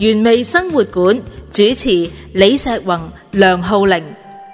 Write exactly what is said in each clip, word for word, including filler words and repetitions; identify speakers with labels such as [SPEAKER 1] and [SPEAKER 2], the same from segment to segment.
[SPEAKER 1] 原味生活館主持李石宏、梁浩玲。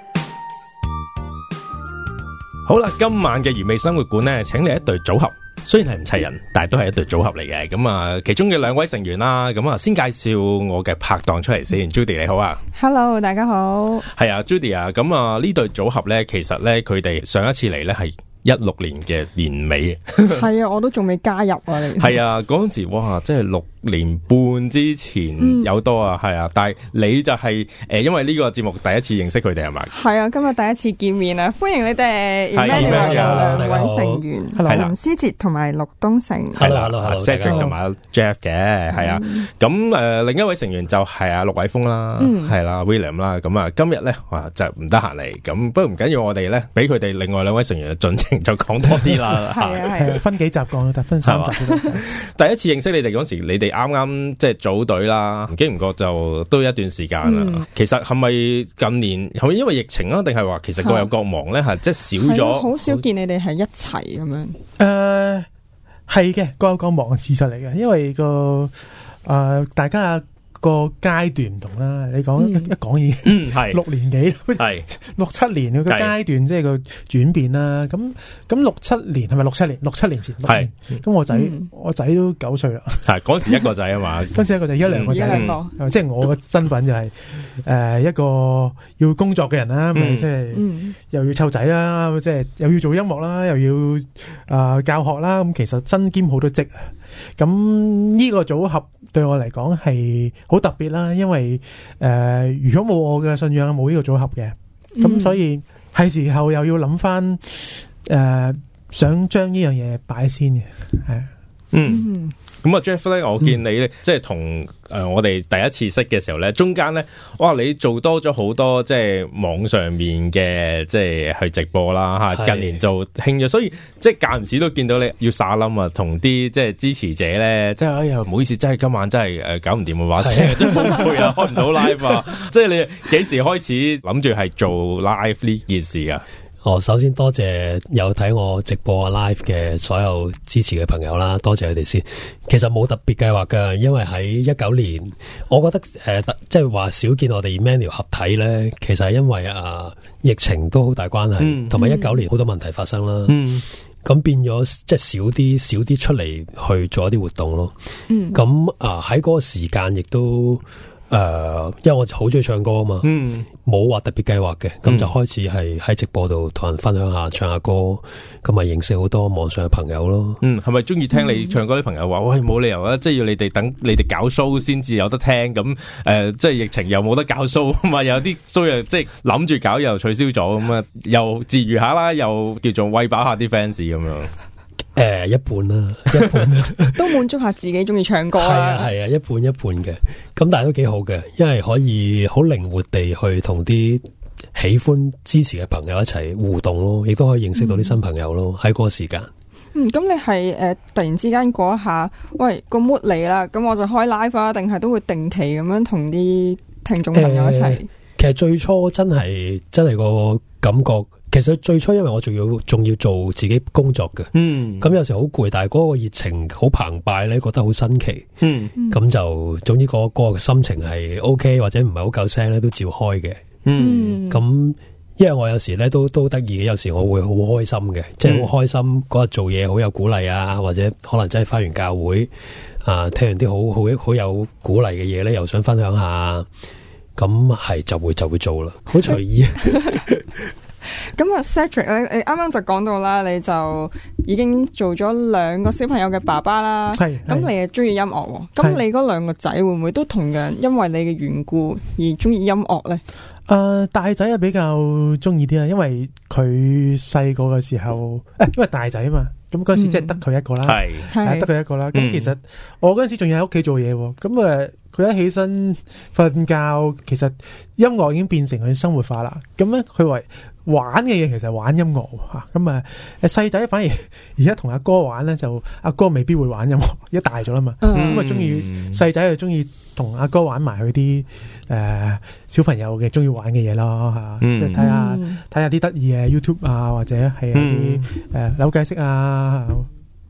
[SPEAKER 2] 好啦，今晚嘅原味生活館呢，請嚟一對組合，雖然係唔齊人，但係都係一對組合嚟嘅。咁啊，其中嘅兩位成員啦，咁啊，先介紹我嘅拍檔出嚟先。Judy 你好啊
[SPEAKER 3] ，Hello， 大家好。
[SPEAKER 2] 係啊 ，Judy 啊，咁啊呢對組合呢，其實呢，佢哋上一次嚟呢係一六年嘅年尾。
[SPEAKER 3] 係啊，我都仲未加入啊，你
[SPEAKER 2] 係啊，嗰陣時哇，即係六年半之前有多啊，係、嗯、啊，但係你就係、是、誒、呃，因為呢個節目第一次認識佢哋係咪？係
[SPEAKER 3] 啊，今日第一次見面啊，歡迎你哋。Emmanuel 有兩位成員，陳思哲同埋陸東成。
[SPEAKER 2] Hello，Hello，Cedric 同埋 Jeff 嘅，係啊。咁誒、呃，另一位成員就係阿陸偉峰啦，係啦 ，William 啦。咁啊，今日咧哇就唔得閒嚟，咁不過唔緊要，我哋咧俾佢哋另外兩位成員嘅進程就講多啲啦。
[SPEAKER 3] 係啊，係啊，
[SPEAKER 4] 分幾集講，得分三集。
[SPEAKER 2] 第一次認識你哋嗰時，你哋啱啱即係組隊啦，唔經唔覺就都一段時間啦、嗯。其實係咪近年係咪因為疫情啊，定係話其實各有各忙咧？係即係少咗，
[SPEAKER 3] 好少見你哋係一齊咁樣。誒、
[SPEAKER 4] 呃，係嘅，各有各忙嘅事實嚟嘅，因為個誒、呃、大家個階段唔同啦。你講、嗯、一一講已經係六年幾，係六七年嘅個階段，即係個轉變啦。咁咁六七年係咪六七年？六七年前係。咁我仔、嗯、我仔都九歲啦。係
[SPEAKER 2] 嗰時一個仔啊嘛，
[SPEAKER 4] 嗰時一個仔，一兩個仔。嗯、即係我嘅身份就係、是、誒、呃、一個要工作嘅人啦，咪即係又要湊仔啦，即係又要做音樂啦，又要誒、呃、教學啦。咁其實身兼好多職。咁呢個組合對我嚟講係好特別啦，因為誒、呃、如果冇我嘅信仰，冇呢個組合嘅，咁、嗯、所以係時候又要諗翻誒想將呢樣嘢擺先嘅，係
[SPEAKER 2] 嗯。咁啊 Jeff 咧，我見你咧、嗯，即係同誒我哋第一次識嘅時候咧，中間咧，哇，你做多咗好多即係網上面嘅即係去直播啦吓，近年做興咗，所以即係間唔時都見到你要撒冧啊，同啲即係支持者咧，即係哎呀唔好意思，真係今晚真係誒搞唔掂啊，話聲真係好攰啊，開唔到 live 啊，即係你幾時開始諗住係做 live 呢件事啊？
[SPEAKER 5] 哦，首先多謝有睇我直播 live 嘅所有支持嘅朋友啦，多謝佢哋先。其實冇特別計劃㗎，因為喺一九年，我覺得誒、呃，即係話少見我哋 Emmanuel 合體咧，其實係因為啊、呃、疫情都好大關係，同埋一九年好多問題發生啦。嗯，咁變咗即係少啲少啲出嚟去做一啲活動咯。嗯，咁啊喺嗰個時間亦都。誒、呃，因為我好中意唱歌啊嘛，嗯，冇話特別計劃嘅，咁、嗯、就開始係喺直播度同人分享下唱下歌，咁咪認識好多網上嘅朋友咯。嗯，係咪中意聽你唱歌啲朋友話、嗯，喂，冇理由啊，即係要你哋等你哋搞 show 先至有得聽，咁誒、呃，即係疫情又冇得搞 show 啊嘛，有啲 show 又即係諗住搞又取消咗，咁啊，又自娛下啦，又叫做餵飽下啲 fans 咁樣。 誒、呃，一半啦，一半啦，
[SPEAKER 3] 都滿足下自己中意唱歌啦。係
[SPEAKER 5] 啊，係啊，一半一半嘅，咁但係都幾好嘅，因為可以好靈活地去同啲喜歡支持嘅朋友一齊互動咯，亦都可以認識到啲新朋友咯。喺、嗯、嗰個時間，
[SPEAKER 3] 嗯，咁你係誒、呃、突然之間嗰一下，喂個 mood 嚟啦，咁我就開 live 啊，定係都會定期咁樣同啲聽眾朋友一齊、呃？
[SPEAKER 5] 其實最初真係真係個感覺。其實最初因為我仲要仲要做自己工作嘅，嗯，咁有時好攰，但係嗰個熱情好澎湃咧，覺得好新奇，嗯，咁就總之嗰個個心情係 OK 或者唔係好夠聲咧，都照開嘅，嗯，咁因為我有時咧都都得意嘅，有時我會好開心嘅，即係好開心嗰日做嘢好有鼓勵啊，或者可能真係返完教會啊，聽完啲好好好有鼓勵嘅嘢咧，又想分享下，咁係就會就會做啦，好隨意。
[SPEAKER 3] 咁啊 Cedric 咧，你啱啱就講到啦，你就已經做咗兩個小朋友嘅爸爸啦。係，咁你又中意音樂，咁你嗰兩個仔會唔會都同樣因為你嘅緣故而中意音樂咧？誒、
[SPEAKER 4] 呃，大仔啊比較中意啲啊，因為佢細個嘅時候，誒、欸，因為大仔啊嘛。咁嗰陣時即係得佢一個啦，係、嗯、得佢一個啦。咁、嗯、其實我嗰陣時仲要喺屋企做嘢，咁誒佢一起身瞓覺，其實音樂已經變成佢生活化啦。咁咧佢話玩嘅嘢其實係玩音樂吓，咁啊細仔反而而家同阿哥玩咧，就阿哥未必會玩音樂，一大咗啦嘛。咁啊中意細仔就中意同阿哥玩埋佢啲誒小朋友嘅中意玩嘅嘢咯吓，即係睇下睇下啲得意嘅 YouTube 啊，或者係一啲誒扭計骰啊。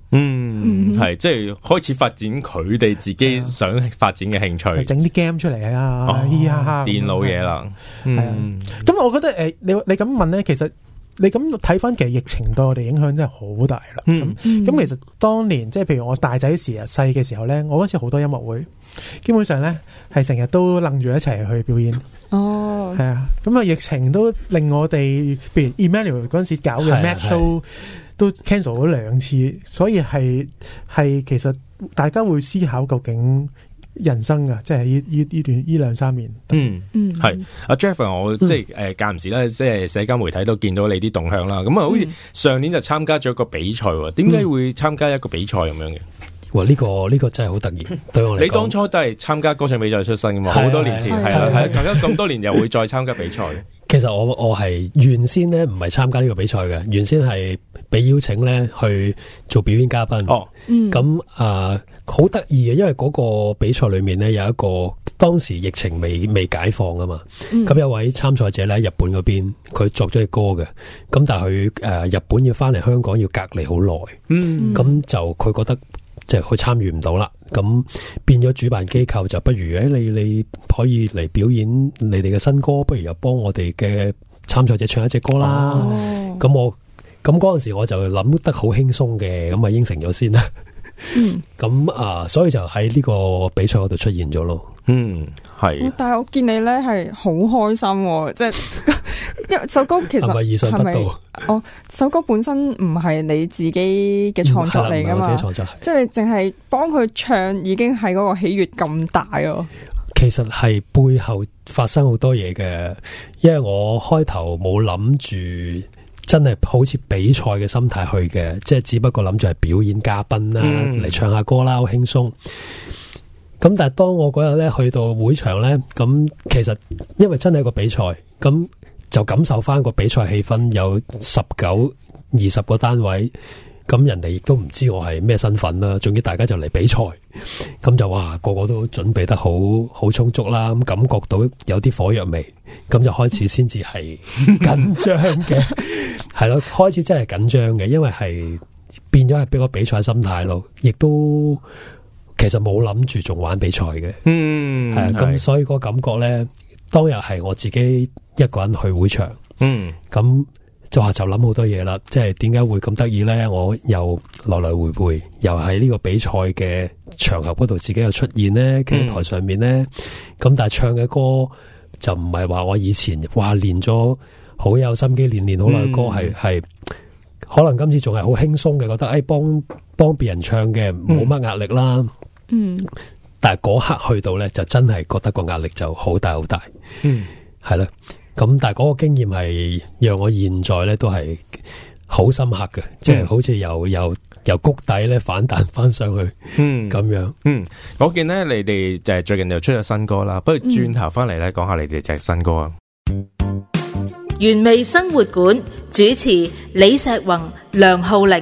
[SPEAKER 2] 嗯，係即係開始發展佢哋自己想發展嘅興趣，
[SPEAKER 4] 整啲 game 出嚟啊，哦、嘻哈哈
[SPEAKER 2] 電腦嘢啦。係啊，
[SPEAKER 4] 咁、嗯、我覺得誒、呃，你你咁問咧，其實你咁睇翻，其實疫情對我哋影響真係好大啦。咁咁、嗯嗯、其實當年即係譬如我大仔時啊細嘅時候咧，我嗰時好多音樂會，基本上咧係成日都楞住一齊去表演。哦，係啊，咁啊疫情都令我哋，譬如 Emmanuel 嗰陣時搞嘅 Mad Show。都 cancel 咗兩次，所以係係其實大家會思考究竟人生噶，即係呢呢呢段呢兩三年。
[SPEAKER 2] 嗯嗯，係阿 Jeff，我即係誒間唔時咧，即係社交媒體都見到你啲動向啦。咁啊，好似上年就參加咗一個比賽，點解會參加一個比賽咁樣嘅？
[SPEAKER 5] 哇！呢、這個呢、這個真係好突然，對我嚟講。你
[SPEAKER 2] 當初都係參加歌唱比賽出身噶嘛？好、啊、多年前係啊係啊，大家咁多年又會再參加比賽。
[SPEAKER 5] 其實我我係原先咧唔係參加呢個比賽嘅，原先係被邀請咧去做表演嘉賓。哦，咁啊好得意嘅，因為嗰個比賽裏面咧有一個當時疫情未未解放啊嘛，咁、嗯、有位參賽者咧喺日本嗰邊，佢作咗隻歌嘅，咁但係佢誒日本要翻嚟香港要隔離好耐，嗯，咁就佢覺得。即係佢參與唔到啦，咁變咗主辦機構就不如誒，你你可以嚟表演你哋嘅新歌，不如又幫我哋嘅參賽者唱一隻歌啦。咁、哦、我咁嗰陣時我就諗得好輕鬆嘅，咁啊應承咗先啦。嗯，咁啊，所以就喺呢個比賽嗰度出現咗咯。嗯，係。但係我見你咧係好開心，即係因為首歌其實係咪意想不到？哦，首歌本身唔係你自己嘅創作嚟噶嘛，自己創作，即係你淨係幫佢唱，已經係嗰個喜悅咁大哦。其實係背後發生好多嘢嘅，因為我開頭冇諗住。真係好似比賽嘅心態去嘅，即係只不過諗住係表演嘉賓啦，嚟、嗯、唱下歌啦，好輕鬆。咁但係當我嗰日咧去到會場咧，咁其實因為真係一個比賽，咁就感受翻個比賽氣氛，有十九、二十個單位，咁人哋亦都唔知我係咩身份啦，總之大家就嚟比賽，咁就哇個個都準備得好好充足啦，咁感覺到有啲火藥味，咁就開始先至係緊張嘅，係咯，開始真係緊張嘅，因為係變咗係俾個比賽心態咯，亦都其實冇諗住仲玩比賽嘅，嗯，係啊，咁所以個感覺咧，當日係我自己一個人去會場，嗯，咁。就話就諗好多嘢啦，即係點解會咁得意咧？我又來來回回，又喺呢個比賽嘅場合嗰度自己又出現咧，企喺台上面咧。咁、嗯、但係唱嘅歌就唔係話我以前話練咗好有心機練練好耐嘅歌，係係、嗯、可能今次仲係好輕鬆嘅，覺得誒幫幫別人唱嘅冇乜壓力啦。嗯，但係嗰刻去到咧，就真係覺得個壓力就好大好大。嗯，係啦。咁但係嗰個經驗係讓我現在咧都係好深刻嘅，即係、嗯、好似由由由谷底咧反彈翻上去，嗯咁樣。嗯，我見咧你哋就係最近又出咗新歌啦，不如轉頭翻嚟咧講下你哋隻新歌啊。
[SPEAKER 1] 原味生活館主持李碩宏、梁浩玲。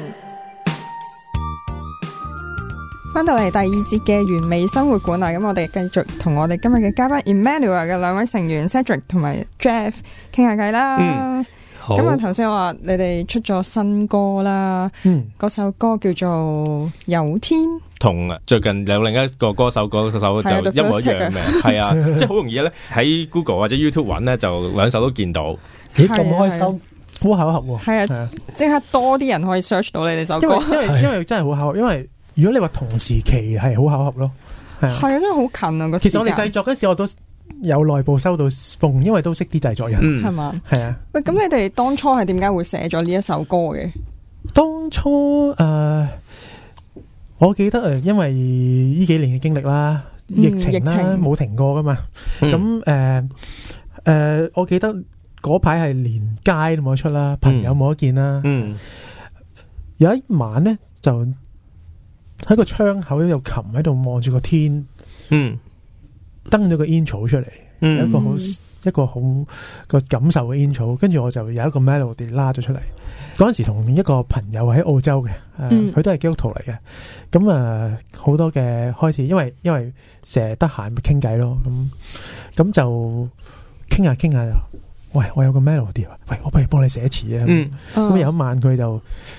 [SPEAKER 1] 翻到嚟第二節嘅原味生活館啊，咁我哋繼續同我哋今日嘅嘉賓 Emmanuel 嘅兩位成員 Cedric 同埋 Jeff 傾下偈啦。嗯，好。咁啊，頭先我話你哋出咗新歌啦，嗯，嗰首歌叫做《有天》，同最近有另一個歌手嗰首就一模一樣嘅，係啊，即係好容易咧喺 Google 或者 YouTube 揾咧，就兩首都見到。咦，咁開心，好巧合喎。係啊，即刻多啲人可以 search 到你哋首歌，因為因為因為真係好巧合，因為。如果你話同時期係好巧合咯，係啊，係啊，真係好近啊個。其實我哋製作嗰時我都有內部收到風，因為都識啲製作人，係嘛、嗯，係啊。喂，咁你哋當初係點解會寫咗呢一首歌嘅？當初誒、呃，我記得誒，因為呢幾年嘅經歷啦，疫情啦，冇、嗯、停過噶嘛。咁誒誒，我記得嗰排係連街都冇得出啦，朋友冇得見啦。嗯，有一晚咧就。喺個窗口有琴喺度望住個天，嗯，登咗個煙草出嚟，嗯、有一個好一個好個感受嘅煙草，跟住我就有一個 melody 拉咗出嚟。嗰陣時同一個朋友喺澳洲嘅，佢、嗯呃、都係基督徒嚟嘅，咁啊好多嘅開始，因為因為成日得閒咪傾偈咯，咁咁就傾下傾下就，喂，我有個 melody，喂，我不如幫你寫詞啊，咁、嗯、有一晚佢就。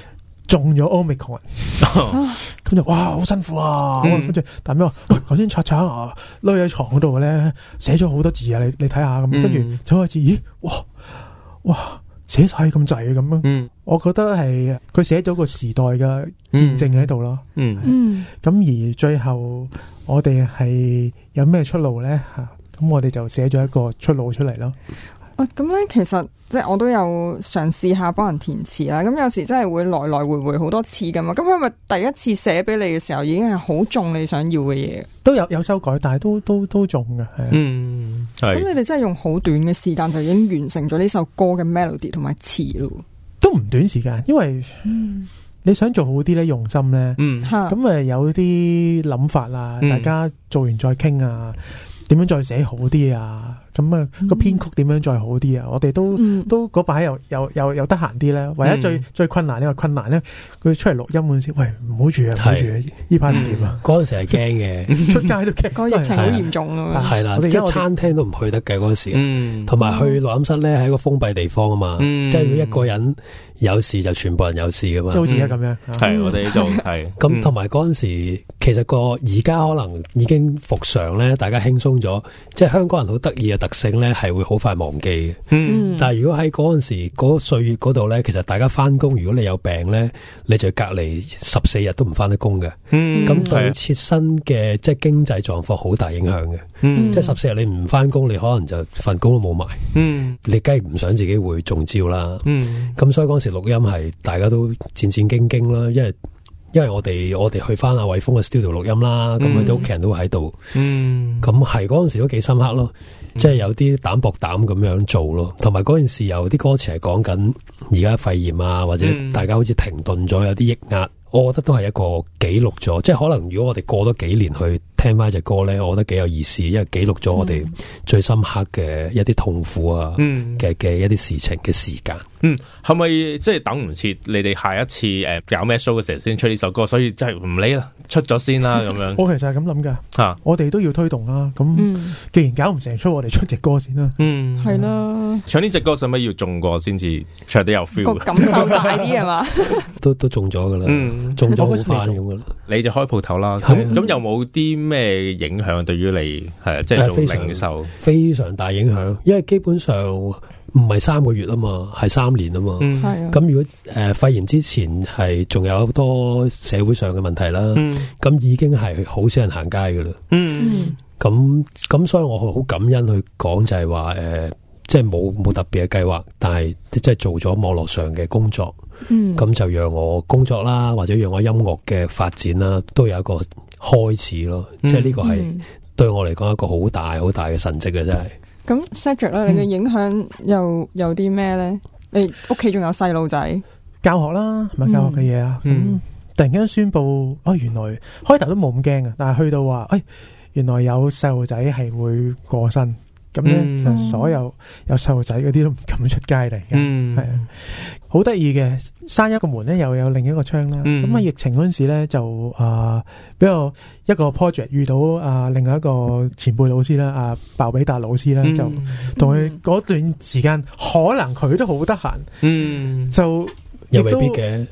[SPEAKER 4] 中咗 Omicron，咁就哇好辛苦啊！跟住但咩話？喂，頭先刷刷啊，匿喺床嗰度咧，寫咗好多字啊！你你睇下咁，跟住走開始，咦？哇哇，寫晒咁滯咁樣。嗯，我覺得係佢寫咗個時代嘅見證喺度咯。嗯嗯，咁而最後我哋係有咩出路咧？吓，咁我哋就寫咗一個出路出嚟咯。
[SPEAKER 3] 啊，咁咧其實即係我都有嘗試下幫人填詞啦，咁有時真係會來來回回好多次噶嘛，咁係咪第一次寫俾你嘅時候已經係好中你想要嘅嘢？
[SPEAKER 4] 都有有修改，但係都都都中嘅，係。嗯，係。咁
[SPEAKER 3] 你哋真係用好短嘅時間就已經完成咗呢首歌嘅 melody 同埋詞咯？
[SPEAKER 4] 都唔短時間，因為你想做好啲咧，用心咧，嗯，咁誒有啲諗法啊，大家做完再傾啊。點樣再寫好啲啊？咁啊個編曲點樣再好啲啊？我哋都、嗯、都嗰排又又又又得閒啲咧。唯一最、嗯、最困難呢個困難咧，佢出嚟錄音嗰陣時，喂唔好住啊，唔好住啊！呢排點啊？
[SPEAKER 5] 嗰陣時係驚嘅，
[SPEAKER 4] 出街都驚。
[SPEAKER 3] 個疫情好嚴重啊！
[SPEAKER 5] 係啦，即係餐廳都唔去得嘅嗰陣時，同埋去錄音室咧係一個封閉地方啊嘛，嗯、即係如果一個人有事就全部人有事噶嘛，
[SPEAKER 4] 即係好似而家咁樣。
[SPEAKER 2] 係、嗯、我哋呢度係
[SPEAKER 5] 咁，同埋嗰陣時其實個而家可能已經復常咧，大家輕鬆咗，即係香港人好得意嘅特性咧，係會好快忘記嘅。嗯，但係如果喺嗰陣時嗰歲月嗰度咧，其實大家翻工，如果你有病咧，你就隔離十四日都唔翻得工嘅。嗯，咁對切身嘅即係經濟狀況好大影響嘅。嗯，即係十四日你唔翻工，你可能就份工都冇埋。嗯，你梗係唔想自己會中招啦。嗯，咁所以嗰陣時錄音係大家都戰戰兢兢啦，因為。因為我哋我哋去翻阿偉峰嘅 studio 錄音啦，咁佢哋屋企人都會喺度，咁係嗰陣時都幾深刻咯，嗯、即係有啲膽薄膽咁樣做咯，同埋嗰陣時有啲歌詞係講緊而家肺炎啊，或者大家好似停頓咗，有啲抑壓，我覺得都係一個記錄咗，即係可能如果我哋過多幾年去聽翻隻歌咧，我覺得幾有意思，因為記錄咗我哋最深刻嘅一啲痛苦啊嘅嘅、嗯、一啲事情嘅時間。
[SPEAKER 2] 嗯，係咪即係等唔切你哋下一次誒、呃、搞咩 show 嘅時候先出呢首歌？所以真係唔理啦，出咗先啦咁樣。
[SPEAKER 4] 我其實係咁諗噶吓，我哋都要推動啦。咁既然搞唔成出，我哋出隻歌先啦。嗯，
[SPEAKER 3] 係啦。
[SPEAKER 2] 唱呢隻歌使咪要中過先至唱得有 feel？個
[SPEAKER 3] 感受大啲係嘛？
[SPEAKER 5] 都都中咗噶啦，嗯、中咗好快咁噶啦。
[SPEAKER 2] 你就開鋪頭啦。咁咁有冇啲咩影響對於你係即係做零售？
[SPEAKER 5] 非常大影響，因為基本上。唔係三個月啊嘛，係三年啊嘛。嗯，係啊。咁如果誒、呃、肺炎之前係仲有好多社會上嘅問題啦，咁、嗯、已經係好少人行街噶啦。嗯，咁咁所以我好感恩去講就係話誒，即係冇冇特別嘅計劃，但係即係做咗網絡上嘅工作。嗯，咁就讓我工作啦，或者讓我音樂嘅發展啦，都有一個開始咯。嗯、即係呢個係對我嚟講一個好大好大嘅神蹟嘅，真係。
[SPEAKER 3] 咁 Cedric 咧，你嘅影響又有啲咩咧？你屋企仲有細路仔，
[SPEAKER 4] 教學啦，係咪教學嘅嘢啊？咁、嗯嗯、突然間宣布，哦，原來開頭都冇咁驚嘅，但係去到話，誒、哎，原來有細路仔係會過身。咁咧，嗯、所有有細路仔嗰啲都唔敢出街嚟嘅，係啊、嗯，好得意嘅。閂一個門咧，又有另一個窗啦。咁啊、嗯，疫情嗰陣時咧，就啊，比較一個 project 遇到啊，另外一個前輩老師啦，啊，鮑比達老師咧，嗯、就同佢嗰段時間，可能佢都好得閒，嗯，就。
[SPEAKER 5] 又未必嘅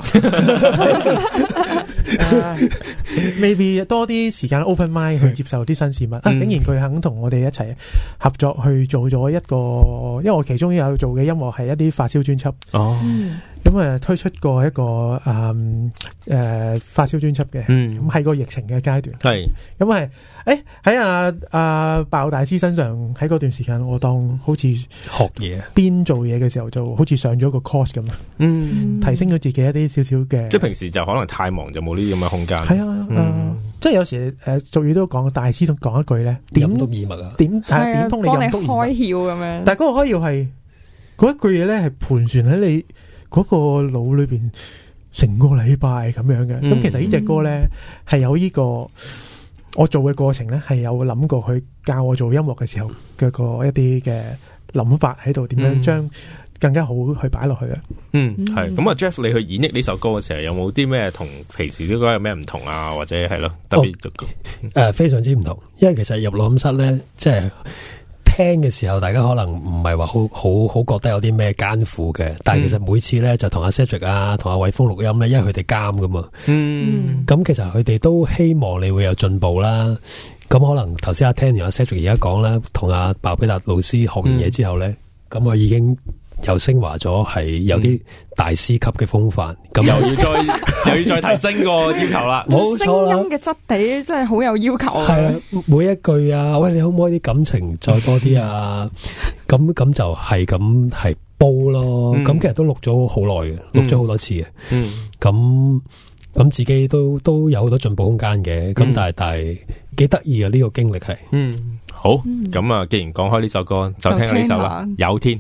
[SPEAKER 4] ，maybe 多啲時間 open mind 去接受啲新事物。啊，竟然佢肯同我哋一齊合作去做咗一個，因為我其中有做嘅音樂係一啲發燒專輯。哦，咁啊推出過一個誒誒發燒專輯嘅，咁喺個疫情嘅階段。係，咁係誒喺阿阿鮑大師身上喺嗰段時間，我當好似
[SPEAKER 5] 學嘢，
[SPEAKER 4] 邊做嘢嘅時候就好似上咗個 course 咁啊。嗯。提升咗自己一啲少少嘅，
[SPEAKER 2] 即係平時就可能太忙就冇呢啲咁嘅空間。
[SPEAKER 4] 係啊，嗯呃、即係有時誒俗語都講，大師都講一句咧，點
[SPEAKER 5] 通耳物啊，
[SPEAKER 4] 點係點通你任督二脈
[SPEAKER 3] 開竅咁樣。
[SPEAKER 4] 但係嗰個開竅係嗰一句嘢咧，係盤旋喺你嗰個腦裏邊成個禮拜咁樣嘅。咁、嗯、其實呢隻歌咧係有呢個我做嘅過程咧，係有諗過去教我做音樂嘅時候嘅個一啲嘅諗法喺度，點樣將更加好去擺落去啊！
[SPEAKER 2] 嗯，係咁啊 ，Jeff，你去演繹呢首歌嘅時候，有冇啲咩同平時啲歌有咩唔同啊？或者係咯，特別誒、
[SPEAKER 5] 哦呃，非常之唔同。因為其實入錄音室咧，即係聽嘅時候，大家可能唔係話好好好覺得有啲咩艱苦嘅，但係其實每次咧就同阿 Cedric 啊，同阿偉峰錄音咧，因為佢哋監噶嘛，嗯，咁其實佢哋都希望你會有進步啦。咁可能頭先阿 Tanny 阿 Cedric 而家講啦，同阿鮑比達老師學完嘢之後咧，咁、嗯、我已經又升華咗，係有啲大師級嘅風範，咁、嗯、又要再又要再提升個要求啦。冇錯啦，
[SPEAKER 3] 聲音嘅質地真係好有要求啊。
[SPEAKER 5] 係啊，每一句啊，喂，你可唔可以啲感情再多啲啊？咁咁就係咁係煲咯。咁、嗯、其實都錄咗好耐嘅，錄咗好多次嘅。嗯，咁咁自己都都有好多進步空間嘅。咁、嗯、但係但係幾得意啊！呢、這個經歷係。嗯，好。咁、嗯、啊，既然講開呢首歌，就聽下呢首啦。有天。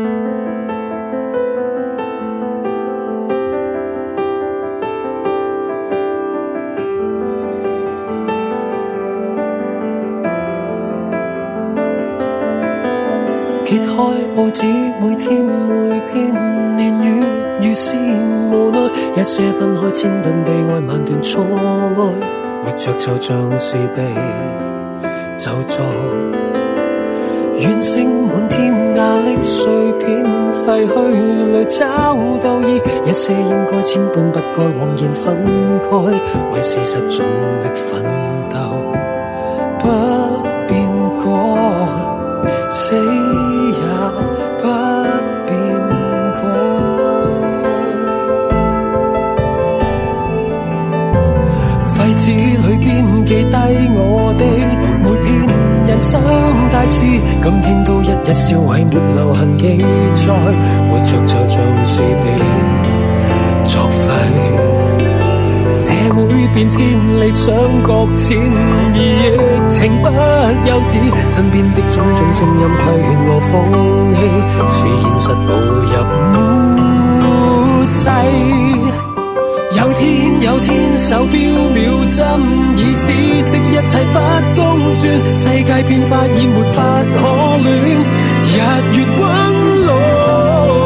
[SPEAKER 6] 揭開報紙，每天每篇年月如是無奈，一些分開千噸悲哀，萬段錯愛，活着就像是被咒詛，怨聲滿天，壓力碎片廢去淚找鬥意，一些應該千般不該枉然分開，為事實盡力奮鬥，不變過，死也不變改。廢紙裏邊記低我的每篇人生大事，今天都一一銷毀，沒留痕記載，活着就像是被作廢。社會變遷，理想擱淺，而疫情不休止，身邊的種種聲音規勸我放棄，是現實步入末世。有天有天，手錶秒針已知悉一切不公轉，世界變化已沒法可戀，日月溫朗。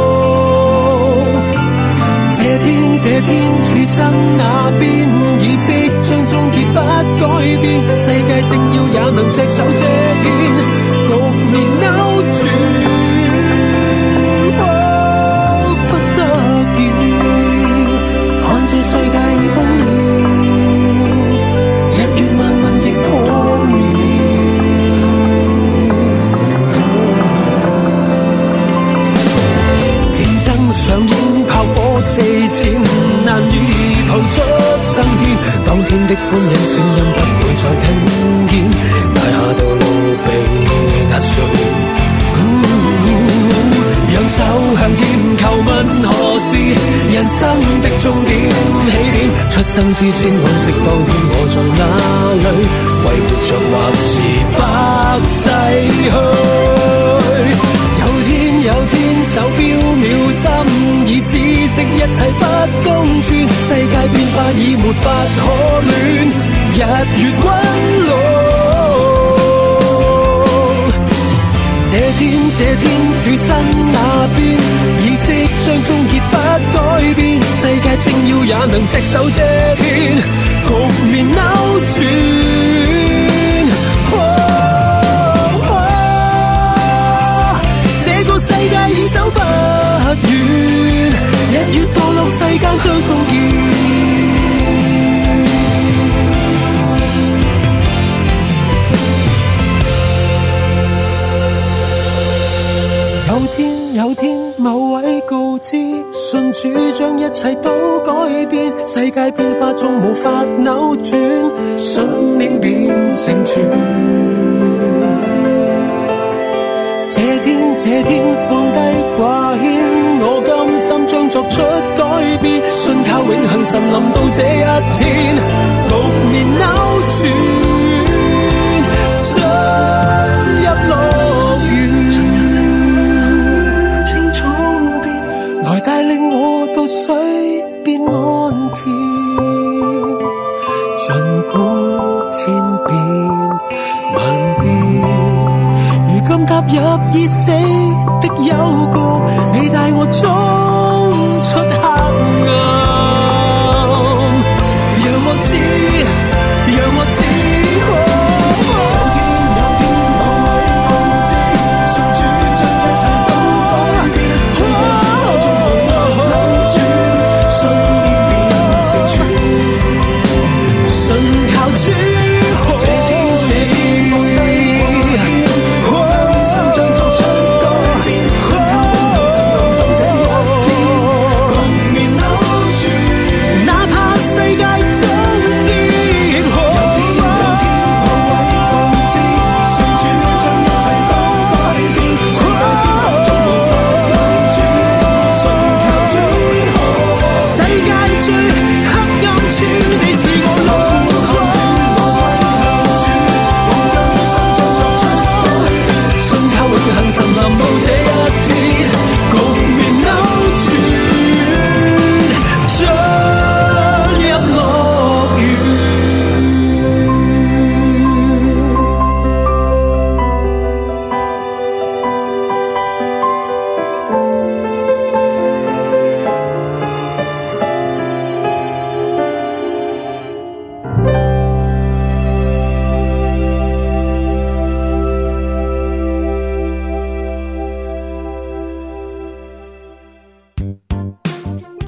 [SPEAKER 6] 這天這天，處身那邊已即將終結不改變，世界正要也能隻手遮天，局面扭轉，哦，不得已，看這世界已分裂，日月漫漫亦破滅。戰爭上演，炮火四濺，難以逃出生天。當天的歡欣聲音不會再聽見，大廈道路被壓碎。仰手向天，求問何時人生的終點起點？出生之前往昔當天我在哪裡？為活着或是不逝去？有天有天，手錶秒針已知悉一切不公轉，世界變化已沒法可戀，日月溫朗。這天這天，處身那邊已即將終結不改變，世界正要也能隻手遮天，局面扭轉。這個世界已走不遠，日月墮落，世間將終結。有天有天，某位告知，信主將一切都改變，世界變化縱無法扭轉，信念變成全。這天這天，放低掛牽，我甘心將作出改變，信靠永恆神臨到這一天，局面扭轉，進入樂園，清楚變，來帶領我到水邊安恬，儘管千變萬變。今踏入已死的幽谷，你帶我衝出黑暗，讓我知，讓我知。有天有天，某位告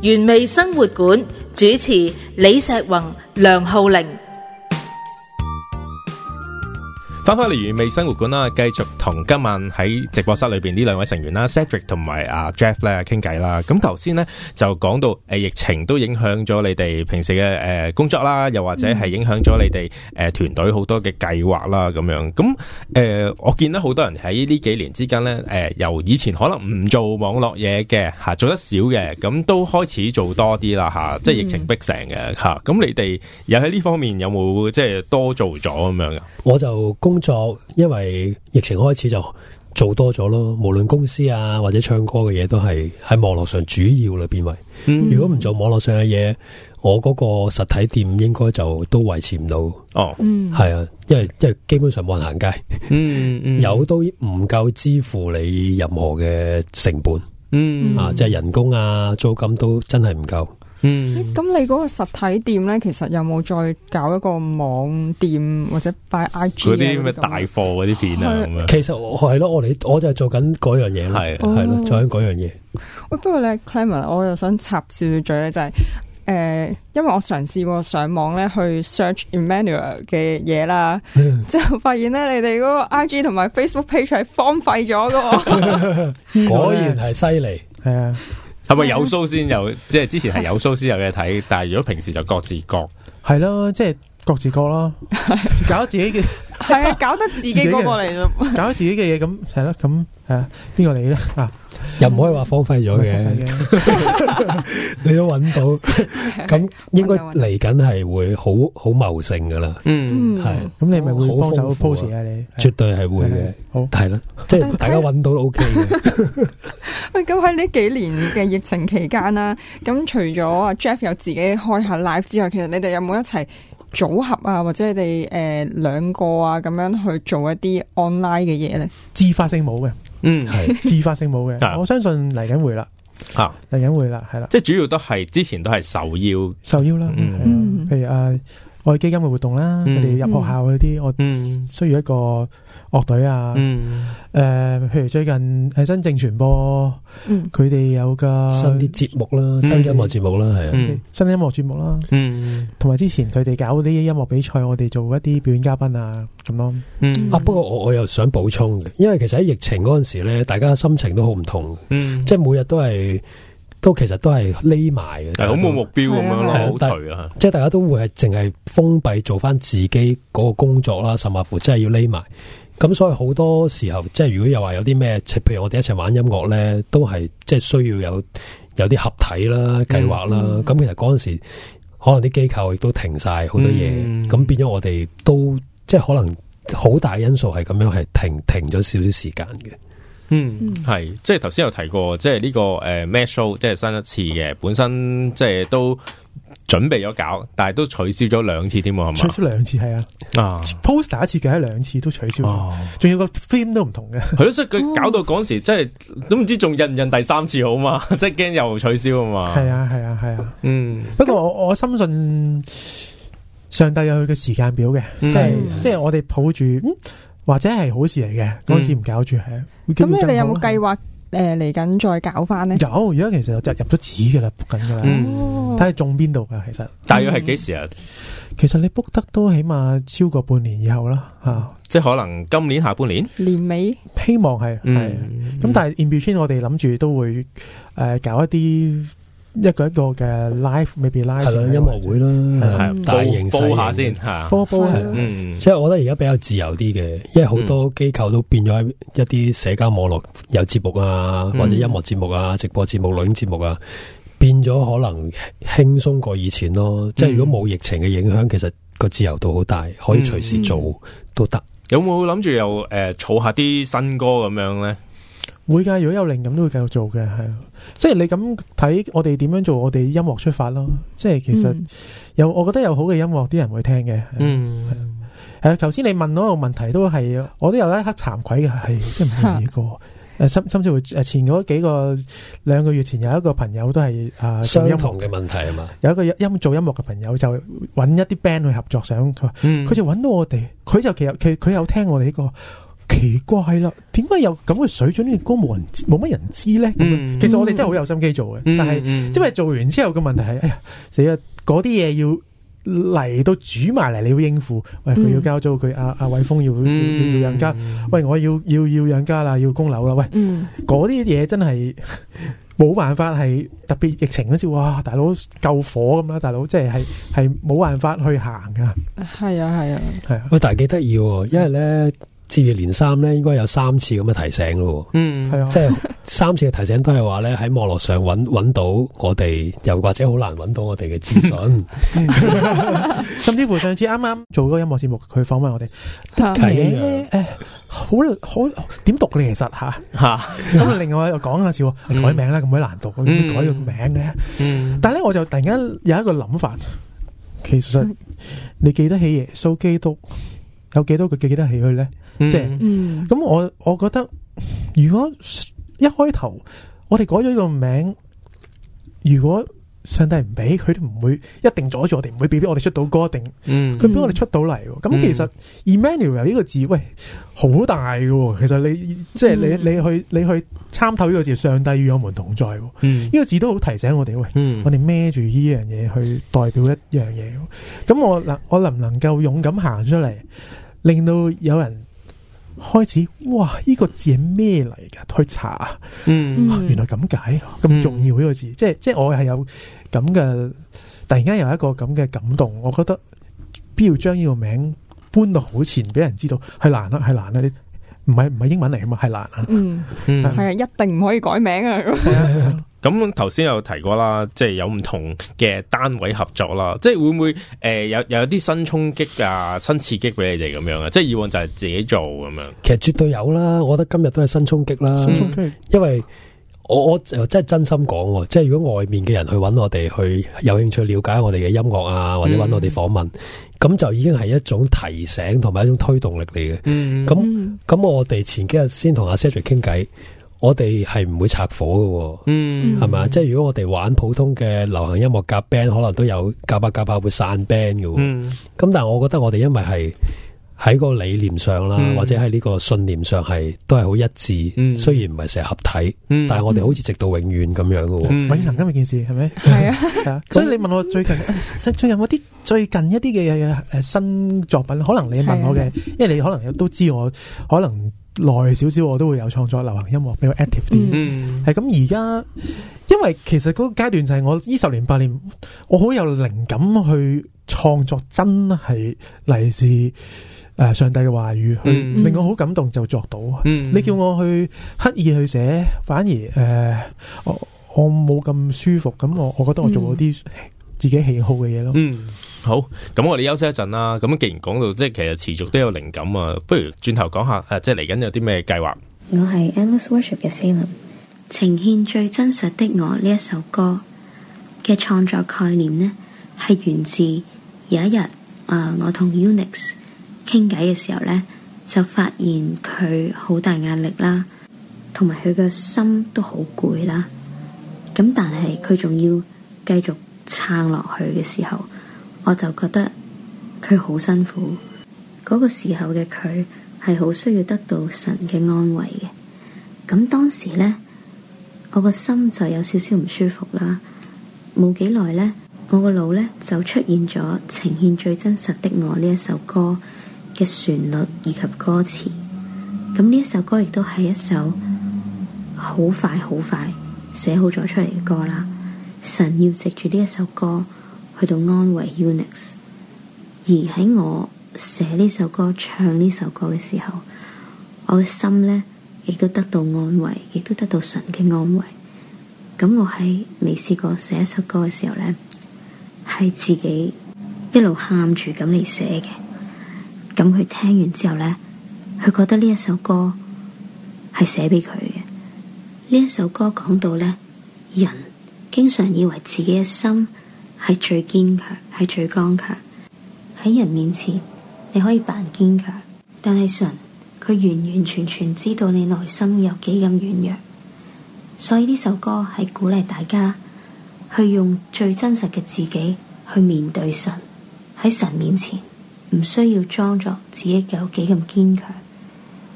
[SPEAKER 7] 原味生活館主持李碩宏、梁浩玲。
[SPEAKER 2] 翻返嚟原味生活館啦，繼續同今晚喺直播室裏邊呢兩位成員啦 Cedric 同埋阿 Jeff 咧傾偈啦。咁頭先咧就講到誒疫情都影響咗你哋平時嘅誒工作啦，又或者係影響咗你哋誒團隊好多嘅計劃啦咁樣。咁誒、呃、我見到好多人喺呢幾年之間咧誒由以前可能唔做網絡嘢嘅吓，做得少嘅，咁都開始做多啲啦吓，即係疫情逼成嘅吓。咁、嗯、你哋又喺呢方面有冇即係多做咗咁樣噶？
[SPEAKER 5] 我就工作，因為疫情開始就做多咗咯。無論公司啊或者唱歌嘅嘢，都係喺網絡上主要啦變為。嗯、如果唔做網絡上嘅嘢，我嗰個實體店應該就都維持唔到。哦，嗯，係啊，因為因為基本上冇人行街，嗯嗯，有都唔夠支付你任何嘅成本，嗯啊，即係人工啊、租金都真係唔夠。
[SPEAKER 3] 嗯，咁你嗰個實體店咧，其實有冇再搞一個網店或者擺 I G
[SPEAKER 2] 嗰啲咩大貨嗰啲片啊？咁樣
[SPEAKER 5] 其實我係咯，我哋我就係做緊嗰樣嘢，係係咯，做緊嗰樣嘢。
[SPEAKER 3] 喂，不過咧 Clement 我又想插少少嘴咧，就係、是、誒、呃，因為我嘗試過上網咧去 search Emmanuel 嘅嘢啦，之後發現咧你哋嗰個 I G 同埋 Facebook page 係荒廢咗噶，
[SPEAKER 5] 果然係犀利，係啊。
[SPEAKER 2] 係咪有 show 先有？即係之前係有 show 先有嘢睇，但係如果平時就各自各，
[SPEAKER 4] 係咯，即係各自各咯，搞自己嘅，
[SPEAKER 3] 係啊，搞得自己嗰個嚟咯，
[SPEAKER 4] 搞自己嘅嘢咁係咯，咁係啊，邊個嚟咧啊？
[SPEAKER 5] 又唔可以話荒廢咗嘅，你都揾到，咁應該嚟緊係會好好茂盛噶啦。嗯，係，咁你咪會幫手 post 啊？你絕對係會嘅，好係啦，即係大家揾到都 OK 嘅。
[SPEAKER 3] 喂，咁喺呢幾年嘅疫情期間啦，咁除咗阿 Jeff 有自己開下 live 之外，其實你哋有冇一齊組合啊，或者你哋誒兩個啊咁樣去做一啲 online 嘅嘢咧？
[SPEAKER 4] 自發性冇嘅，嗯，係自發性冇嘅，我相信嚟緊會啦，吓嚟緊會啦，係啦，
[SPEAKER 2] 即係主要都係之前都係受邀，
[SPEAKER 4] 受邀啦，嗯，譬如誒愛基金嘅活動啦，我哋入學校嗰啲，我需要一個樂隊啊，誒，譬如最近係新政傳播，佢哋有個
[SPEAKER 5] 新啲節目啦，新音樂節目啦，係啊，
[SPEAKER 4] 新音樂節目啦，同埋之前佢哋搞啲音樂比賽，我哋做一啲表演嘉賓啊，咁咯。
[SPEAKER 5] 啊，不過我我又想補充嘅，因為其實喺疫情嗰陣時咧，大家心情都好唔同，即係每日都係。都其實都係匿埋嘅，
[SPEAKER 2] 係好冇目標咁樣咯，好頹啊！
[SPEAKER 5] 即係大家都會係淨係封閉做翻自己嗰個工作啦，甚至乎真係要匿埋。咁所以好多時候，即係如果又話有啲咩，譬如我哋一齊玩音樂咧，都係即係需要有有啲合體啦、計劃啦。咁、嗯、其實嗰陣時，可能啲機構亦都停晒好多嘢，咁、嗯、變咗我哋都即係可能好大因素係咁樣係停停咗少少時間嘅。
[SPEAKER 2] 嗯，係，即係頭先有提過，即係呢、這個誒 Mad Show，即係新一次嘅，本身即係都準備咗搞，但係都取消咗兩次添，係嘛？
[SPEAKER 4] 取消兩次係啊，啊 poster 一次計咗兩次都取消咗，仲、哦、要個 theme 都唔同嘅，係
[SPEAKER 2] 咯，所以佢搞到嗰陣時，即係都唔知仲印唔印第三次好嘛？即係驚又取消啊嘛？
[SPEAKER 4] 係啊，係啊，係啊，嗯。不過我我深信上帝有佢嘅時間表嘅，即係即係我哋抱住。嗯或者係好事嚟嘅，嗰陣時唔搞住係。
[SPEAKER 3] 咁你哋有冇計劃誒嚟緊再搞翻呢？
[SPEAKER 4] 有，而家其實就入咗紙噶啦，book 緊噶啦，睇下中邊度噶。其實
[SPEAKER 2] 大約係幾時啊？
[SPEAKER 4] 其實你 book 得都起碼超過半年以後啦，吓、嗯，
[SPEAKER 2] 即係可能今年下半年
[SPEAKER 3] 年尾，
[SPEAKER 4] 希望係係。咁但係 in between 我哋諗住都會誒、呃、搞一啲。一個一個嘅 live，未必 live 係咯，音樂會啦，係大型
[SPEAKER 2] 煲下先吓，
[SPEAKER 4] 煲煲係，
[SPEAKER 5] 嗯，即係我覺得而家比較自由啲嘅，因為好多機構都變咗喺一啲社交網絡有節目啊，或者音樂節目啊、直播節目、錄影節目啊，變咗可能輕鬆過以前咯。即係如果冇疫情嘅影響，其實個自由度好大，可以隨時做都得。
[SPEAKER 2] 有冇諗住又誒儲下啲新歌咁樣咧？
[SPEAKER 4] 會噶，如果有靈感都會繼續做嘅，係，即係你咁睇我哋點樣做，我哋音樂出發咯。即係其實有，我覺得有好嘅音樂，啲人會聽嘅。嗯，係啊，頭先你問嗰個問題都係，我都有一刻慚愧嘅，係即係唔理過。誒，甚甚至乎誒前嗰幾個兩個月前有一個朋友都係啊
[SPEAKER 5] 相同嘅問題係嘛，
[SPEAKER 4] 有一個音做音樂嘅朋友就揾一啲 band 去合作，想佢話佢就揾到我哋，佢就其實佢佢有聽我哋呢個。 奇怪啦，點解有咁嘅水準嘅歌冇人冇乜人知咧？咁、嗯、其實我哋真係好有心機做嘅，嗯、但係因為做完之後嘅問題係，哎呀死啦！嗰啲嘢要嚟到煮埋嚟，你要應付。喂，佢要交租，佢阿阿偉峰要、嗯、要要養家。喂，我要要要養家啦，要供樓啦。喂，嗰啲嘢真係冇辦法，係特別疫情嗰時，哇！大佬救火咁啦，大佬即係係係冇辦法去行噶。
[SPEAKER 3] 係啊係啊
[SPEAKER 4] 係啊。
[SPEAKER 5] 喂，但係幾得意喎，因為咧。接二連三咧，應該有三次咁嘅提醒咯。嗯，係啊，即係三次嘅提醒都係話咧，喺網絡上揾揾到我哋，又或者好難揾到我哋嘅資訊。
[SPEAKER 4] 甚至乎上次啱啱做嗰個音樂節目，佢訪問我哋，啲名咧誒，好好點讀你其實吓吓。咁另外又講下笑，改名啦，咁鬼難讀，點解改個名嘅？嗯，但係咧，我就突然間有一個諗法，其實你記得起耶穌基督，有幾多個記得起佢咧？即係，咁、嗯、我我覺得，如果一開頭我哋改咗呢個名，如果上帝唔俾，佢都唔會一定阻住我哋，唔會俾俾我哋出到歌，一定，佢俾我哋出到嚟。咁、嗯、其實 Emmanuel 呢個字，喂，好大嘅。其實你即係、嗯、你你去你去參透呢個字，上帝與我們同在。呢、嗯、個字都好提醒我哋，喂，嗯、我哋孭住呢樣嘢去代表一樣嘢。咁我能我能唔能夠勇敢行出嚟，令到有人開始，哇！呢、這個字係咩嚟噶？去查，嗯，啊、原來咁解，咁、嗯、重要呢個字，即係即係我係有咁嘅，突然間有一個咁嘅感動，我覺得必要將呢個名搬到好前，俾人知道係難啦，係難啦，你唔係唔係英文嚟噶嘛，係難啊，嗯嗯，係啊，一定唔可以改名啊。
[SPEAKER 2] 咁頭先有提過啦，即係有唔同嘅單位合作啦，即係會唔會誒、呃、有有啲新衝擊啊、新刺激俾你哋咁樣啊？即係以往就係自己做咁樣。其實絕對有啦，我覺得今日都係新衝擊啦。新衝擊，因為我我真係真心講，即係如果外面嘅人去揾我哋，去有興趣了解我哋嘅音樂啊，或者揾我哋訪問，咁、嗯、就已經係一種提醒同埋一種推動力嚟嘅。嗯，咁咁我哋前幾日先同阿 Cedric 傾偈。我哋係唔會拆夥嘅，嗯，係咪？即係如果我哋玩普通嘅流行音樂夾 band，可能都有夾把夾把會散 band 嘅，嗯。咁但係我覺得我哋因為係喺個理念上啦，嗯、或者喺呢個信念上係都係好一致。嗯、雖然唔係成日合體，嗯、但係我哋好似直到永遠咁樣嘅，
[SPEAKER 4] 嗯、永恒咁嘅件事係咪？係啊，係啊。所以你問我最近最近有冇啲最近一啲嘅誒新作品？可能你問我嘅，因為你可能都知我可能。耐少少我都會有創作流行音樂比較 active 啲，係咁而家，因為其實嗰個階段就係我呢十年八年，我好有靈感去創作，真係嚟自誒上帝嘅話語，去令我好感動就作到。嗯、你叫我去刻意去寫，反而誒、呃、我我冇咁舒服，咁我我覺得我做咗啲自己喜好嘅嘢咯。嗯
[SPEAKER 2] 好，咁我哋休息一陣啦。咁既然講到即係其實持續都有靈感啊，不如轉頭講下誒，即係嚟緊有啲咩計劃？
[SPEAKER 8] 我係 Endless Worship 嘅 Salem， 呈現最真實的我呢一首歌嘅創作概念呢，係源自有一日誒、呃，我同 Unix 傾偈嘅時候呢，就發現佢好大壓力啦，同埋佢個心都好攰啦。咁但係佢仲要繼續撐落去嘅時候，我就覺得佢好辛苦，嗰個時候嘅佢係好需要得到神嘅安慰嘅。咁當時呢，我個心就有少少唔舒服啦。冇幾耐呢，我個腦呢就出現咗呈現最真實的我呢一首歌嘅旋律以及歌詞。咁呢一首歌亦都係一首好快好快寫好咗出嚟嘅歌啦。神要藉住呢一首歌去到安慰 Unix， 而喺我寫呢首歌、唱呢首歌嘅時候，我嘅心呢亦都得到安慰，亦都得到神嘅安慰。咁我喺未試過寫一首歌嘅時候呢，係自己一路喊住咁嚟寫嘅。咁佢聽完之後呢，佢覺得呢一首歌係寫俾佢嘅。呢一首歌講到呢，人經常以為自己嘅心係最堅強，係最剛強。喺人面前你可以扮堅強，但係神佢完完全全知道你內心有幾咁軟弱。所以呢首歌係鼓勵大家去用最真實嘅自己去面對神。喺神面前唔需要裝作自己有幾咁堅強，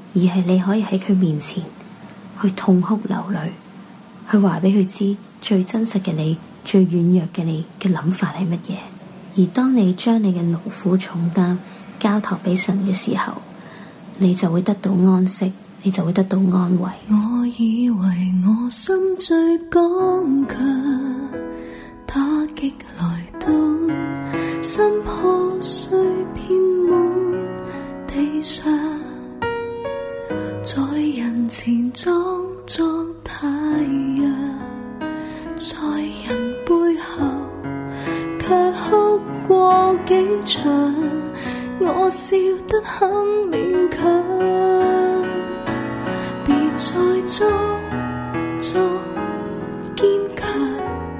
[SPEAKER 8] 而係你可以喺佢面前去痛哭流淚，去話俾佢知最真實嘅你、最軟弱嘅你嘅諗法係乜嘢。而當你將你嘅勞苦重擔交託俾神嘅時候，你就會得到安息，你就會得到安慰。
[SPEAKER 6] 我以為我心最剛強，打擊來到，心破碎遍滿地上，在人前裝作太陽，在人背後卻哭過幾場，我笑得很勉強，別再裝作堅強，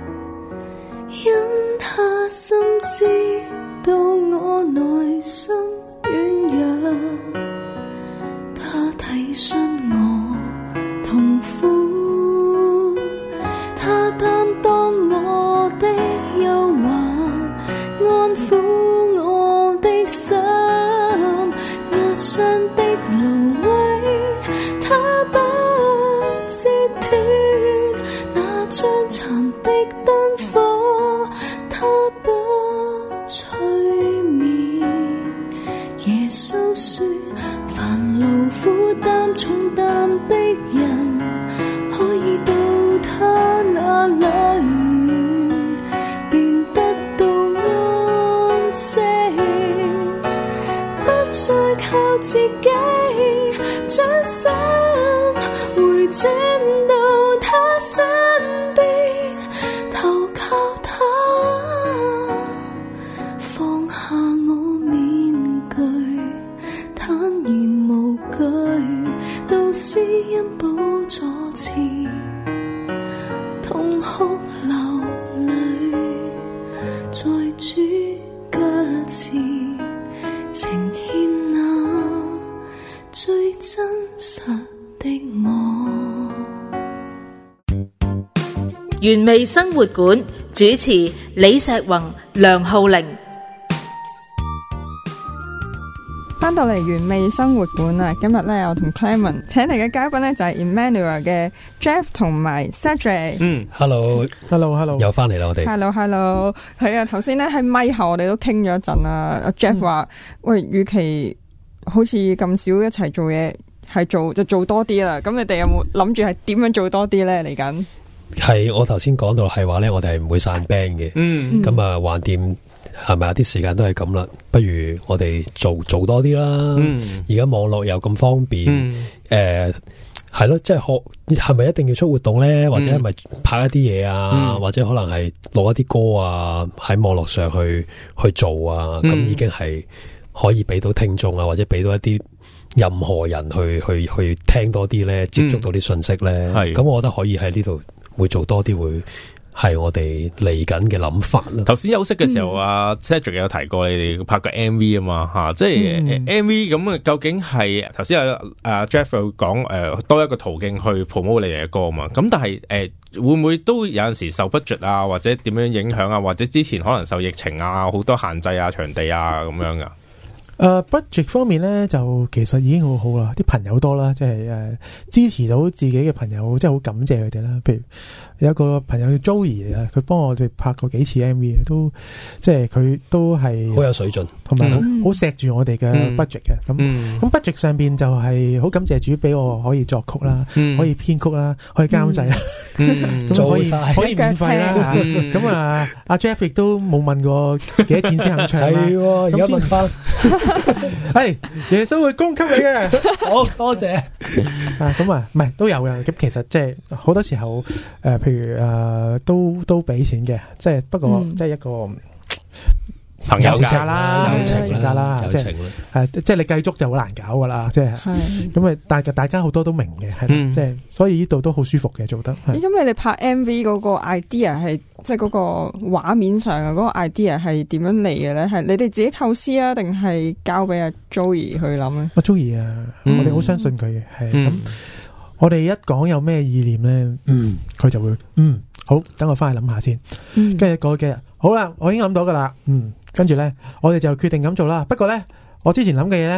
[SPEAKER 6] 因他深知道我內心軟弱，他體恤我痛苦，他擔當我的憂患，安撫我的心，壓傷的蘆葦，他不折斷，那將殘的燈火，他不吹滅。耶穌說，凡勞苦擔重擔的人，可以到他那裏，便得到安息，不再靠自己，將心回轉到他身邊，投靠他，放下我面具，坦然無懼，到施恩寶座前，痛哭流淚，在主腳前，呈獻那最真實的我。
[SPEAKER 7] 原味生活館主持李石宏、梁浩玲。
[SPEAKER 3] 翻到嚟原味生活館啊！今日咧，我同 Clement 請嚟嘅嘉賓咧就係 Emmanuel 嘅 Jeff 同埋 Cedric。
[SPEAKER 5] 嗯 ，Hello，Hello，Hello， 又翻嚟啦，我哋。
[SPEAKER 3] Hello，Hello， 係啊，頭先咧喺咪後我哋都傾咗一陣啊。阿 Jeff 話：喂，與其好似咁少一齊做嘢，係做就做多啲啦。咁你哋有冇諗住係點樣做多啲咧？嚟緊
[SPEAKER 5] 係我頭先講到係話咧，我哋係唔會散 band 嘅。嗯，咁啊，橫掂。係咪啊？啲時間都係咁啦，不如我哋做做多啲啦。而家、嗯、網絡又咁方便，誒係咯，即係學係咪一定要出活動咧？或者係咪拍一啲嘢啊？嗯、或者可能係錄一啲歌啊，喺網絡上去去做啊？咁、嗯、已經係可以俾到聽眾啊，或者俾到一啲任何人去去去聽多啲咧，接觸到啲信息咧。咁、嗯、我覺得可以喺呢度會做多啲會。係我哋嚟緊嘅諗法啦。頭先休息嘅時候，阿 Cedric 有提過你哋拍個 M V 啊嘛，吓、啊，即係、嗯、M V 咁啊，究竟係頭先阿阿 Jeff 有講誒，多一個途徑去 promote 你哋嘅歌啊嘛。咁但係誒、呃，會唔會都有陣時受 budget 啊，或者點樣影響啊，或者之前可能受疫情啊，好多限制啊，場地啊咁樣噶？
[SPEAKER 4] 誒、uh, budget 方面咧，就其實已經好好啦，啲朋友多啦，即係誒支持到自己嘅朋友，即係好感謝佢哋啦。譬如有一個朋友叫 Joey 啊，佢幫我哋拍過幾次 M V， 都即係佢都係好有水準，同埋好好錫住我哋嘅 budget 嘅。咁咁、嗯、budget 上邊就係好感謝主俾我可以作曲啦，嗯、可以編曲啦，可以監製啦，咁可以可以免費啦。咁啊，阿 Jeff 亦都冇問過幾多錢先肯唱啦。係，而家問翻。係耶穌會供給你嘅，好多謝啊！咁啊，唔係都有嘅。咁其實即係好多時候，誒、呃，譬如誒、呃，都都俾錢嘅，即係不過、嗯、即係一個朋友價啦，友情價啦，即係誒，即係你計足就好難搞噶啦，即係咁啊！但係大家好多都明嘅，係、嗯、即係所以呢度都好舒服嘅，做得。咁你哋拍 M V 嗰個 idea 係即係嗰個畫面上嘅嗰個 idea 係點樣嚟嘅咧？係你哋自己構思啊，定係交俾阿 Joey 去諗咧？阿 Joey 啊，嗯、我哋好相信佢嘅，係咁。嗯、我哋一講有咩意念咧，嗯，佢就會嗯好，等我翻去諗下先。跟住過幾日，好啦，我已經諗到噶啦，嗯。跟住咧，我哋就決定咁做啦。不過咧，我之前諗嘅嘢咧，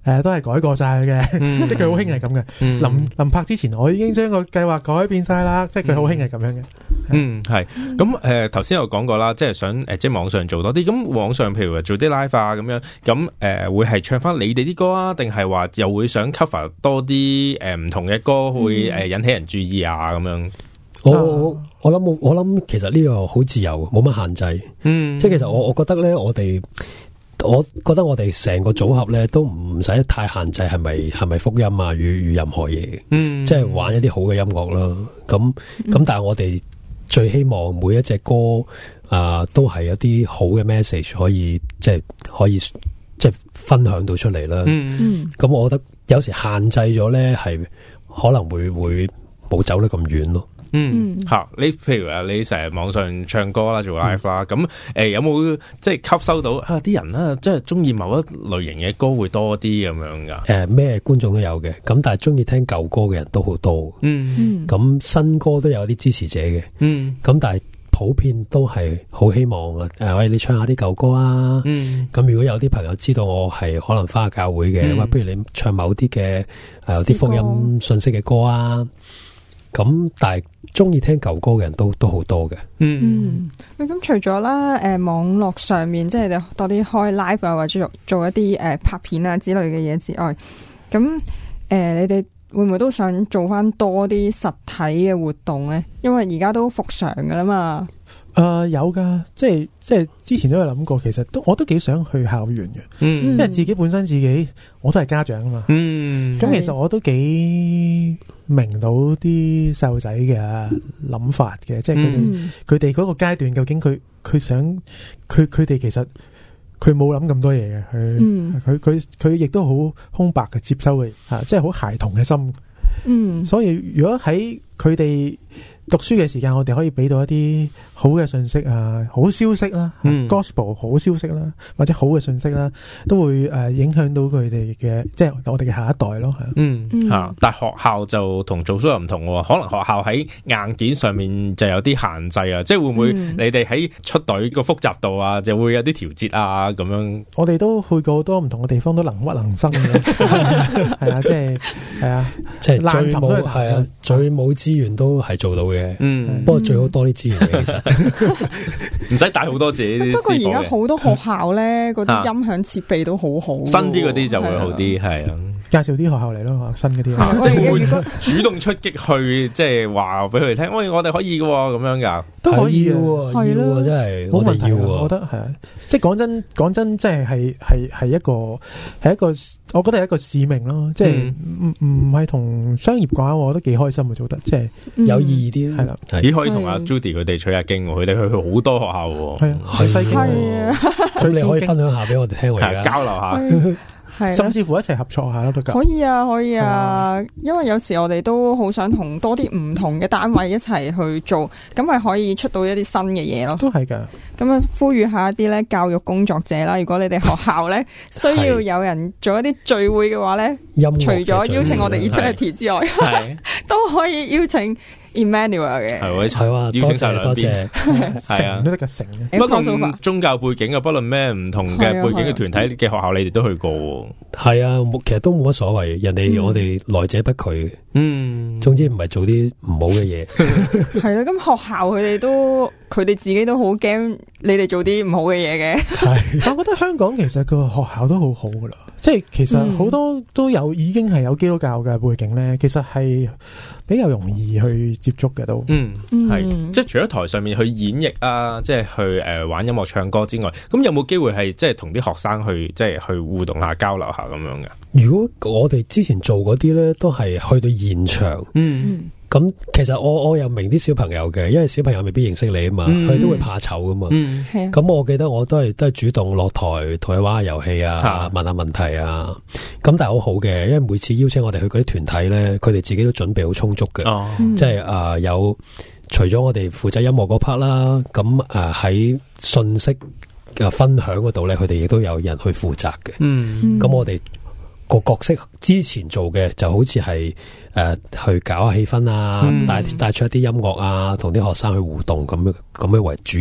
[SPEAKER 4] 誒都係改過晒嘅，嗯、即係佢好興係咁嘅。臨臨、嗯、拍之前，我已經將個計劃改變晒啦，即係佢好興係咁樣嘅。
[SPEAKER 2] 嗯，係咁誒，頭先有講過啦，即係想誒，即係網上做多啲。咁網上譬如話做啲 live 啊，咁樣咁誒、呃，會係唱翻你哋啲歌啊，定係話又會想 cover 多啲誒唔同嘅歌，會誒引起人注意啊咁樣？
[SPEAKER 5] 我我諗我諗，其實呢個好自由，冇乜限制。嗯，即係其實我我覺得咧，我哋我覺得我哋成個組合咧都唔使太限制，係咪係咪福音啊，與與任何嘢。嗯，即係玩一啲好嘅音樂啦。咁咁，嗯、但係我哋最希望每一隻歌啊、呃，都係有啲好嘅 message 可以，即係可以即係分享到出嚟啦。嗯，咁我覺得有時限制咗咧，係可能會會冇走得咁遠咯。
[SPEAKER 2] 嗯，吓你譬如話你成日網上唱歌啦，做 live 啦，咁誒、嗯呃、有冇即係吸收到啊啲人啊，即係中意某一類型嘅歌會多啲咁樣噶？
[SPEAKER 5] 誒咩觀眾都有嘅，咁但係中意聽舊歌嘅人都好多。嗯，咁新歌都有啲支持者嘅。嗯，咁但係普遍都係好希望啊，誒喂，你唱下啲舊歌啊。嗯，咁如果有啲朋友知道我係可能返下教會嘅，喂、嗯，不如你唱某啲嘅誒有啲福音信息嘅歌啊。咁但係中意聽舊歌嘅人都都好多嘅。
[SPEAKER 3] 嗯，咁、嗯、除咗啦，誒、呃、網絡上面即係多啲開 live 啊，或者做做一啲誒、呃、拍片啊之類嘅嘢之外，咁誒、呃、你哋會唔會都想做翻多啲實體嘅活動咧？因為而家都復常噶啦嘛。
[SPEAKER 4] 誒、呃，有噶，即係即係之前都有諗過，其實都我都幾想去校園嘅，嗯，因為自己本身自己我都係家長啊嘛，嗯，咁其實我都幾明到啲細路仔嘅諗法嘅，即係佢哋佢哋嗰個階段究竟佢佢想佢佢哋其實佢冇諗咁多嘢嘅，佢佢佢佢亦都好空白嘅接收嘅，吓，即係好孩童嘅心，嗯，所以如果喺佢哋讀書嘅時間，我哋可以俾到一啲好嘅信息啊，好消息啦、嗯、，gospel 好消息啦，或者好嘅信息啦，都會誒影響到佢哋嘅，即係我哋嘅下一代咯，係
[SPEAKER 2] 嗯吓、嗯，但係學校就同做 show 又唔同，可能學校喺硬件上面就有啲限制啊，即係會唔會你哋喺出隊個複雜度啊，就會有啲調節啊咁樣？
[SPEAKER 4] 我哋都去過好多唔同嘅地方，都能屈能伸嘅，係啊，即係係啊，
[SPEAKER 5] 即係最冇係啊，最冇資源都係做到嘅。嗯，不過最好多啲資源嘅，其實唔
[SPEAKER 2] 使帶好多自己啲。
[SPEAKER 3] 不過而家好多學校咧，嗰啲音響設備都好好，
[SPEAKER 2] 新啲嗰啲就會好啲，係啊。
[SPEAKER 4] 介紹啲學校嚟咯，新嗰啲，
[SPEAKER 2] 即係會主動出擊去，即係話俾佢哋聽，喂，我哋可以嘅咁樣噶，
[SPEAKER 4] 都可以嘅，
[SPEAKER 5] 係咯，真係我哋要，
[SPEAKER 4] 我覺得係啊。即係講真，講真，即係係係係一個係一個，我覺得係一個使命咯。即係唔唔係同商業掛鈎，我覺得幾開心啊，做得即係
[SPEAKER 5] 有意義啲，係啦。
[SPEAKER 2] 咦，可以同阿 Judy 佢哋取下經，佢哋去好多學校，
[SPEAKER 4] 係啊，去西經，
[SPEAKER 5] 咁你可以分享下俾我哋聽，
[SPEAKER 2] 交流下。
[SPEAKER 4] 甚至乎一齊合作下都得噶，
[SPEAKER 3] 可以啊，可以啊，嗯、因為有時我哋都好想同多啲唔同嘅單位一齊去做，咁咪可以出到一啲新嘅嘢咯。
[SPEAKER 4] 都係噶，
[SPEAKER 3] 咁啊，呼籲下一啲咧教育工作者啦，如果你哋學校咧需要有人做一啲聚會嘅話咧，除咗邀請我哋 Eternity 之外，都可以邀請 Emmanuel 嘅，
[SPEAKER 2] 係係啊，邀請晒兩邊，係啊，
[SPEAKER 4] 都得㗎成。
[SPEAKER 2] 不論宗教背景啊，不論咩唔同嘅背景嘅團體嘅學校，你哋都去過。
[SPEAKER 5] 係啊，其實都冇乜所謂，人哋我哋來者不拒。嗯，總之唔係做啲唔好嘅嘢。
[SPEAKER 3] 係啦，咁學校佢哋都佢哋自己都好驚你哋做啲唔好嘅嘢嘅。
[SPEAKER 4] 係，我覺得香港其實個學校都好好噶啦，即係其實好多都有已經係有基督教嘅背景咧，其實係比較容易去接觸嘅都。嗯，
[SPEAKER 2] 係，即係除咗台上面去演繹啊，即係去誒玩音樂唱歌之外，咁有冇機會係即係同啲學生去即係去互動下交流下咁樣嘅？
[SPEAKER 5] 如果我哋之前做嗰啲咧，都係去到現場，嗯，咁其實我我又明啲小朋友嘅，因為小朋友未必認識你啊嘛，佢、嗯、都會怕醜噶嘛，嗯，係啊，咁我記得我都係都係主動落台同佢玩下遊戲啊，啊問下問題啊，咁但係好好嘅，因為每次邀請我哋去嗰啲團體咧，佢哋自己都準備好充足嘅，哦，即係啊、呃、有除咗我哋負責音樂嗰 part 啦，咁啊喺信息嘅分享嗰度咧，佢哋亦都有人去負責嘅，嗯，咁我哋個角色之前做嘅就好似係誒去搞下氣氛啊，帶帶、嗯、出一啲音樂啊，同啲學生去互動咁樣咁樣為主要啦。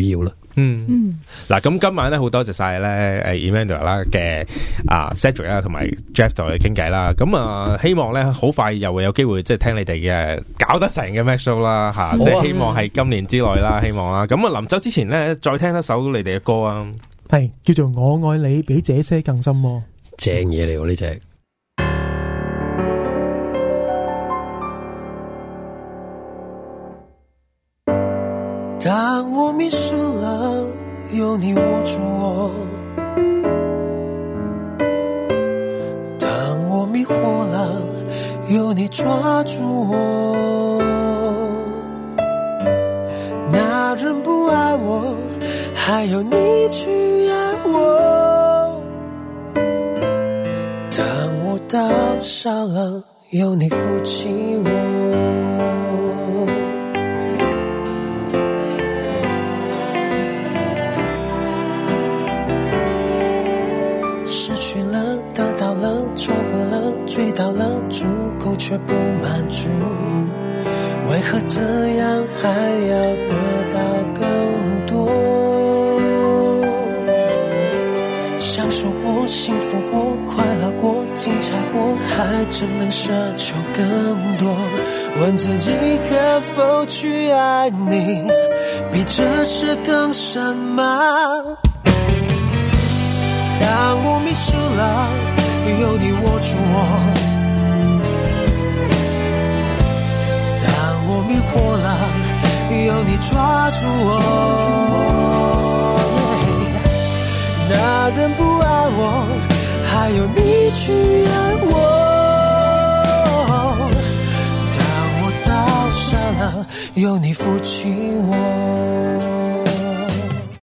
[SPEAKER 2] 嗯嗯，嗱，咁今晚咧好多謝晒咧誒 Emmanuel 啦嘅啊 Cedric 啦同埋 Jeff 同我哋傾偈啦，咁啊希望咧好快又會有機會即係聽你哋嘅搞得成嘅 Mac Show 啦吓，即係希望係今年之內啦，希望啦，咁啊臨走之前咧再聽一首你哋嘅歌啊，
[SPEAKER 4] 係叫做我愛你比這些更深喎，
[SPEAKER 5] 正嘢嚟喎呢隻。
[SPEAKER 6] 當我迷失了，有你握住我；當我迷惑了，有你抓住我。那人不愛我，還有你去愛我。當我到笑了，有你扶起我。失去了，得到了，錯過了，追到了，足夠卻不滿足，為何這樣還要得到更多？享受過，幸福過，快樂過，精彩過，還真能奢求更多？問自己可否去愛你，比這些更深嗎？當我迷失了，有你握住我；當我迷惑了，有你抓住我。那人不愛我，還有你去愛我。當我到傻了，有你扶起我。